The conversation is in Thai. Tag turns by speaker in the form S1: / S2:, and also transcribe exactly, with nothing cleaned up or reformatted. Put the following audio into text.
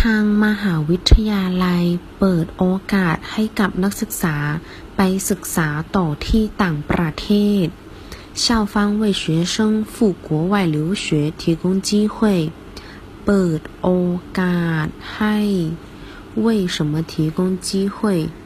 S1: ทางมหาวิทยาลัยเปิดโอกาสให้กับนักศึกษาไปศึกษาต่อที่ต่างประเทศ校方为学生赴国外留学提供机会เปิดโอกาสให้为什么提供机会